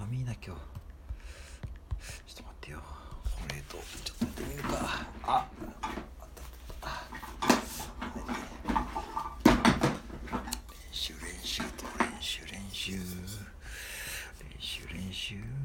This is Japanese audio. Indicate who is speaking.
Speaker 1: 寒いな今日。ちょっと待ってよ。これとちょっとやってみるか。あった。練習と練習。